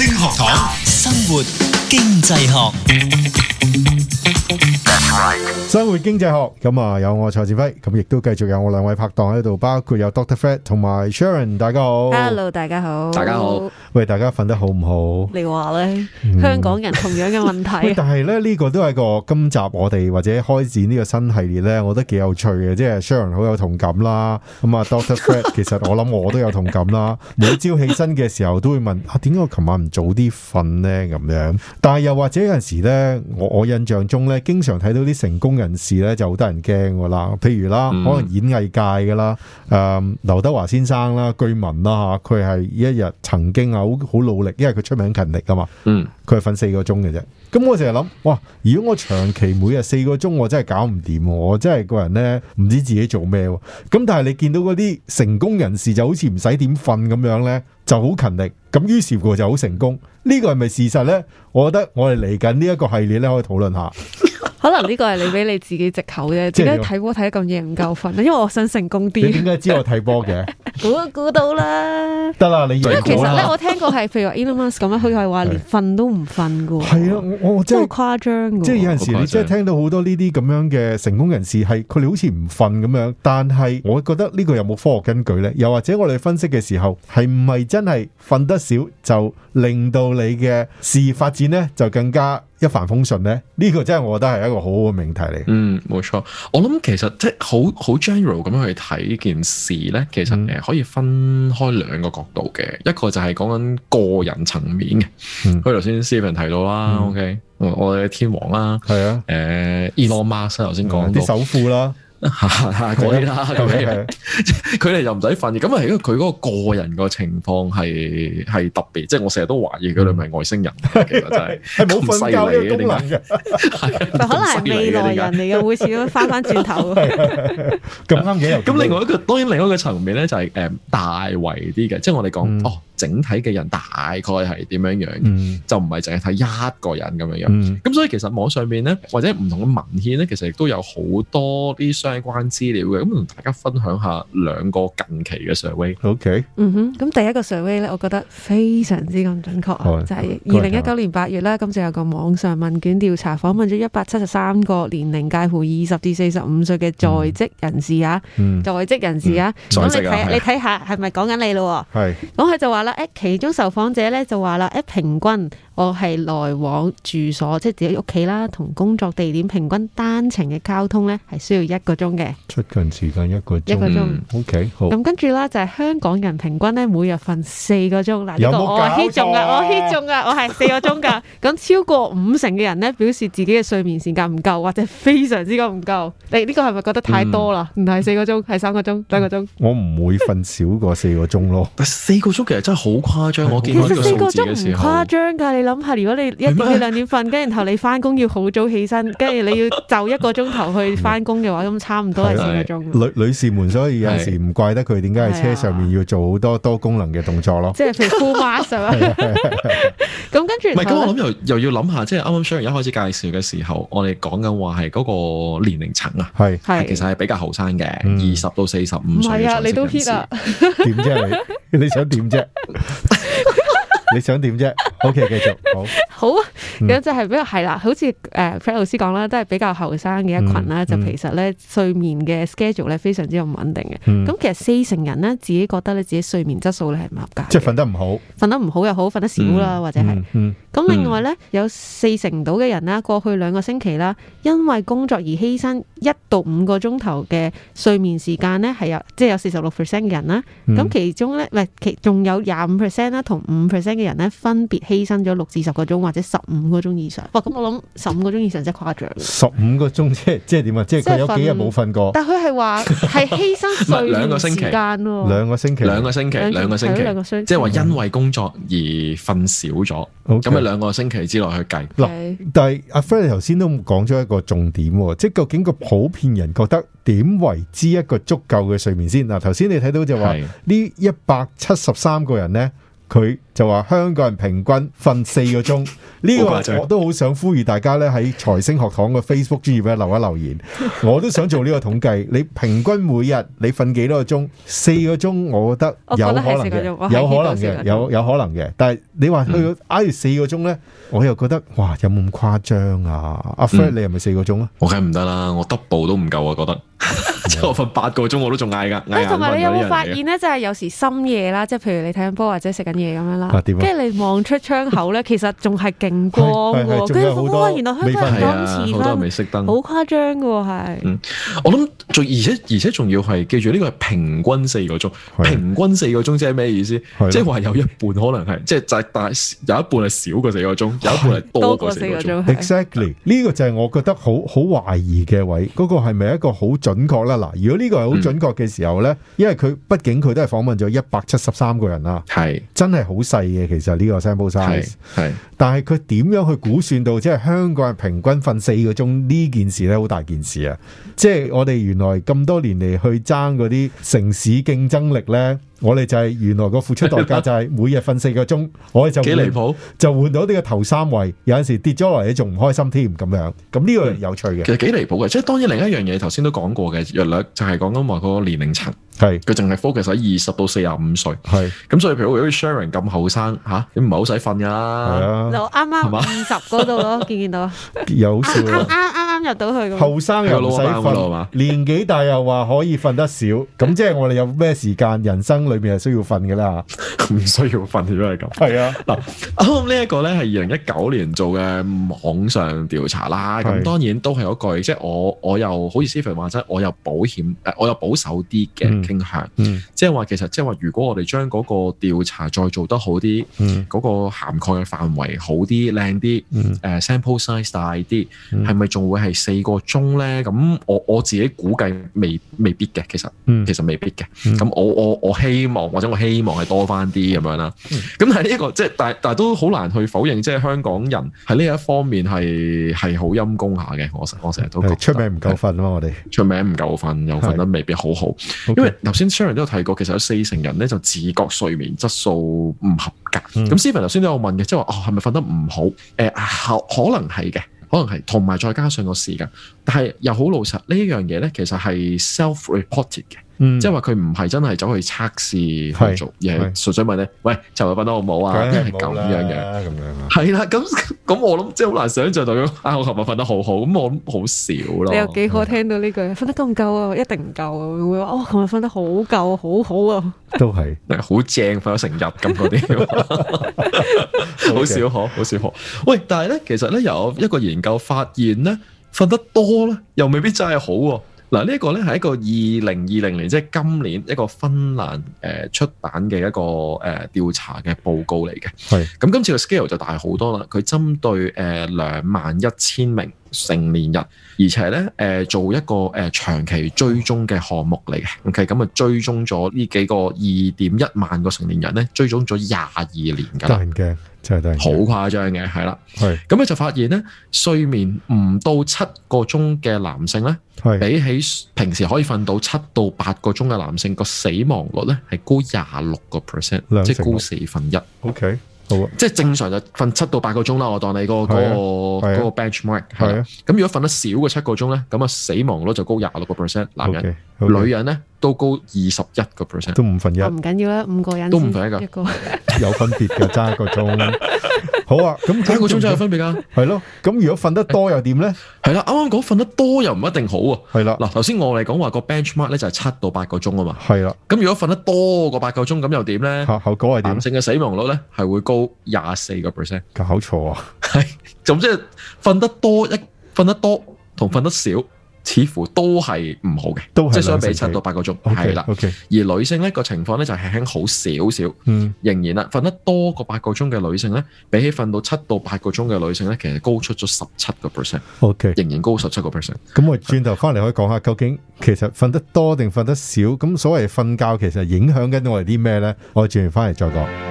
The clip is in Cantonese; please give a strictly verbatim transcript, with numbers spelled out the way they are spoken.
星學堂，生活經濟學。 生活經濟學咁啊，有我蔡志輝，咁亦都繼續有我兩位拍檔喺度，包括有 Doctor Fred 同埋 Sharon， 大家好。 Hello， 大家好。 大家好。 喂，大家瞓得好唔好？ 你話咧，嗯、香港人同樣嘅問題。 但係咧呢、這個都係個今集我哋或者開展呢個新系列咧，我覺得幾有趣嘅，即係 Sharon 好有同感啦。咁啊 ，Doctor Fred 其實我諗我都有同感啦。每朝起身嘅時候都會問啊，點解我琴晚唔早啲瞓咧？咁樣，但係又或者有陣時咧，我我印象中咧，經常睇到啲成功人士咧就好得人驚噶啦，譬如啦，嗯、可能演藝界噶啦，誒、嗯，劉德華先生啦，據聞啦吓，佢係一日曾經啊好好努力，因為佢出名勤力噶嘛，嗯，佢係瞓四個鐘嘅啫。咁我成日諗，哇，如果我長期每日四個鐘，我真係搞唔掂，我真係個人咧唔知自己做咩。咁但係你見到嗰啲成功人士就好似唔使點瞓咁樣咧，就好勤力，咁於是乎就好成功。呢個係咪事實咧？我覺得我哋嚟緊呢一個系列咧，可以討論下。 可能呢個係你俾你自己藉口啫，點解睇波睇得咁夜唔夠瞓？因為我想成功啲。你點解知我睇波嘅？估都估到啦。得啦，你因為其實咧，我聽過係譬如話 Elon Musk 咁樣，佢係話連瞓都唔瞓噶。係啊，我我真係好誇張噶。即係有陣時你真係聽到好多呢啲咁樣嘅成功人士，係佢哋好似唔瞓咁樣，但係我覺得呢個有冇科學根據咧？又或者我哋分析嘅時候，係唔係真係瞓得少就令到你嘅事業發展咧就更加一帆風順咧？呢個真係我覺得係一個好好嘅命題嚟。 嗯，冇錯。我諗其實即係好好 general 咁樣去睇件事咧，其實誒可以分開兩個角度嘅。一個就係講緊個人層面嘅。嗯，佢頭先 Stephen 提到啦、嗯、，OK，我哋嘅天王啦，係啊，誒 Elon Musk 頭先講啲首富啦。 嗰啲啦，咁樣佢哋又唔使瞓，咁啊，因為佢嗰個個人個情況係係特別，即係我成日都懷疑佢哋係外星人，其實真係係冇瞓覺嘅功能嘅， 可能係未來人嚟嘅，會似咁翻翻轉頭。咁啱嘅。 咁另外一個當然另外一個層面咧就係誒大圍啲嘅，即係我哋講哦整體嘅人大概係點樣樣，就唔係淨係睇一個人咁樣樣。咁所以其實網上面咧或者唔同嘅文獻咧，其實亦都有好多啲相關資料嘅，咁同大家分享下兩個近期嘅 survey。OK， 嗯哼，咁第一個 survey 咧，我覺得非常之咁準確啊，就係二零一九年八月啦，咁就有個網上問卷調查，訪問咗一百七十三個年齡介乎二十至四十五歲嘅在職人士啊，嗯、在職人士啊，咁、嗯、你睇你睇下係咪講緊你咯？係，咁佢就話啦，誒，其中受訪者咧就話啦，誒，平均我係來往住所，即係自己屋企啦，同工作地點平均單程嘅交通咧係需要一個鐘嘅， 出勤時間一個鐘， 一個鐘、 嗯、OK 好。 咁跟住啦，就係香港人平均咧每日瞓四個鐘，嗱呢個我 hit 中啊，我 hit 中啊，我係四個鐘噶。咁超過五成嘅人咧表示自己嘅睡眠時間唔夠，或者非常之咁唔夠。你呢個係咪覺得太多啦？唔係四個鐘，係三個鐘，兩個鐘。我唔會瞓少過四個鐘咯。 但四個鐘其實真係好誇張，我見到呢個數字嘅時候。 誇張㗎，你諗下，如果你一點幾兩點瞓，跟住然後你翻工要好早起身，跟住你要就一個鐘頭去翻工嘅話，咁差唔多係四個鐘。 女女士們，所以有陣時唔怪得佢點解喺車上面要做好多多功能嘅動作咯。 即係譬如 full mask 啊。咁跟住， 唔係咁，我諗又又要諗下，即係啱啱 Sharon 一開始介紹嘅時候，我哋講緊話係嗰個年齡層啊，係係其實係比較後生嘅，二十到四十五歲。 係啊，你都 hit 啊？ 點啫你？你想點啫？你想點啫 ？OK， 繼續好。好啊， 咁就係比較係啦，好似誒 Fred 老師講啦，都係比較後生嘅一群啦。嗯嗯、就其實咧睡眠嘅 schedule 咧非常之唔穩定嘅。咁、嗯、其實四成人咧自己覺得咧自己睡眠質素咧係唔合格， 即係瞓得唔好， 瞓得唔好又好，瞓得少啦，嗯、或者係。咁、嗯嗯、另外咧有四成到嘅人啦，過去兩個星期啦，因為工作而犧牲一到五個鐘頭嘅睡眠時間咧，係有即係有四十六 percent 嘅人啦。咁、嗯、其中咧唔係其仲有廿五 percent 啦，同五 percent 嘅人咧分別犧牲咗六至十個鐘或者十五個鐘以上。哇！咁我諗十五個鐘以上真係誇張。十五個鐘即係即係點啊？即係佢有幾日冇瞓過？ 但佢係話係犧牲睡眠時間咯。 兩個星期， 兩個星期，兩個星期，兩個星期，即係話因為工作而瞓少咗。咁啊兩個星期之內去計。嗱 Okay.，但係阿 Fred 頭先都講咗一個重點，即係究竟個普遍人覺得點為之一個足夠嘅睡眠先？嗱，頭先你睇到就話呢一百七十三個人咧。 佢就話香港人平均瞓四個鐘。呢個我都好想呼籲大家咧喺財星學堂嘅 Facebook 專頁咧留一留言，我都想做呢個統計。你平均每日你瞓幾多個鐘？四個鐘，我覺得有可能嘅，有可能嘅，有有可能嘅。但係你話去到挨住四個鐘咧，我又覺得哇，有冇咁誇張啊？阿 Fred，你係咪四個鐘啊？ 我梗唔得啦，我 double 都唔夠啊，覺得。即係我瞓八個鐘我都仲嗌噶。 同埋你有冇發現咧？就係有時深夜啦，即係譬如你睇緊波或者食緊嘢咁樣啦，跟住你望出窗口咧，其實仲係勁光喎。跟住哇，原來香港人咁遲好多未熄燈， 好誇張噶喎，係。 嗯，我諗仲而且而且仲要係記住呢個係平均四個鐘，平均四個鐘即係咩意思？即係話有一半可能係即係就但係有一半係少過四個鐘，有一半係多過四個鐘。 Exactly，呢個就係我覺得好好懷疑嘅位，嗰個係咪一個好準確啦？嗱，如果呢個係好準確嘅時候咧，因為佢畢竟佢都係訪問咗一百七十三個人啦，係真係好細嘅。其實呢個 sample size 係，但係佢點樣去估算到即係香港人平均瞓四個鐘呢件事咧，好大件事啊！即係我哋原來咁多年嚟去爭嗰啲城市競爭力咧。我哋就係原來個付出代價就係每日瞓四個鐘，我哋就幾離譜， 就換到呢個頭三位，有陣時跌咗落嚟你仲唔開心添咁樣，咁呢個有趣嘅。 其實幾離譜嘅，即係當然另一樣嘢頭先都講過嘅，約略就係講緊話個年齡層， 係佢淨係 focus 喺二十到四十五歲，係咁所以譬如好似 Sharon 咁後生吓，你唔係好使瞓噶啦，係啊， 就啱啱二十嗰度咯，見唔見到？ 有笑啱啱啱啱入到去， 後生又唔使瞓，年紀大又話可以瞓得少，咁即係我哋有咩時間人生裏面係需要瞓嘅啦， 唔需要瞓如果係咁。係啊，嗱，啱呢一個咧係二零一九年做嘅網上調查啦。咁當然都係嗰句，即係我我又好似 Stephen 話齋，我有保險誒，我有保守啲嘅傾向。嗯，即係話其實即係話，如果我哋將嗰個調查再做得好啲，嗯，嗰個涵蓋嘅範圍好啲、靚啲，嗯，誒 sample size 大啲，係咪仲會係四個鐘咧？咁我我自己估計未未必嘅，其實，其實未必嘅。咁我我我希望或者我希望係多翻啲咁樣啦。咁但係呢一個即係，但但係都好難去否認，即係香港人喺呢一方面係係好陰功下嘅。我我成日都覺得出名唔夠瞓啊！我哋出名唔夠瞓，又瞓得未必好好。因為頭先 Sharon 都有提過，其實有四成人咧就自覺睡眠質素唔合格。咁 Stephen 頭先都有問嘅，即係話哦係咪瞓得唔好？誒、呃、可可能係嘅。可能係，同埋再加上個時間，但係又好老實呢一樣嘢咧，其實係 self-reported 嘅，嗯、即係話佢唔係真係走去測試去做，而係純粹問你，喂，尋日瞓得好唔好啊？因為係咁樣嘅，咁樣係啦，咁咁我諗即係好難想像到，啊，我尋日瞓得好好，咁我諗好少咯。你有幾可聽到呢句？瞓得夠唔夠啊？一定唔夠啊！會話哦，尋日瞓得好夠，好好啊！都係好正，瞓咗成日咁嗰啲，好少可，好少可。喂，但係咧，其實咧有一個研究發現咧，瞓得多咧，又未必真係好喎。嗱，呢一個咧係一個二零二零年，即係今年一個芬蘭誒出版嘅一個誒調查嘅報告嚟嘅。係咁，今次嘅 scale 就大好多啦。佢針對誒兩萬一千名成年人，而且咧誒做一個誒長期追蹤嘅項目嚟嘅。OK，咁啊追蹤咗呢幾個二點一萬個成年人咧，追蹤咗廿二年㗎啦。驚驚，真係得好誇張嘅，係啦。係咁咧就發現咧，睡眠唔到七個鐘嘅男性咧，比起平時可以瞓到七到八個鐘嘅男性，個死亡率咧係高廿六個 percent，即係高四分一。OK。即係正常就瞓七到八個鐘啦，我當你嗰個嗰個嗰個 benchmark 係啦。咁如果瞓得少過七個鐘咧，咁啊死亡率就高廿六個 percent， 男人、女人咧都高二十一個 percent，都五分一。唔緊要啦，五個人都五分一噶，有分別嘅，爭一個鐘。好啊，咁一個鐘真係有分別噶，係咯。咁如果瞓得多又點咧？係啦，啱啱講瞓得多又唔一定好啊。係啦，嗱頭先我哋講話個 benchmark 咧就係七到八個鐘啊嘛。係啦，咁如果瞓得多過八個鐘咁又點咧？後果係點？男性嘅死亡率咧係會高廿四個 percent， 搞錯啊！係，咁即係瞓得多一瞓得多同瞓得少，似乎都係唔好嘅，都係即係相比七到八個鐘，係啦。Okay, okay. 而女性咧個情況咧就係輕輕好少少，嗯，仍然啦，瞓得多過八個鐘嘅女性咧，比起瞓到七到八個鐘嘅女性咧，其實高出咗十七個 percent，OK， 仍然高十七個 percent。咁我轉頭翻嚟可以講下，究竟其實瞓得多定瞓得少？咁所謂瞓覺其實影響緊我哋啲咩咧？我轉完翻嚟再講。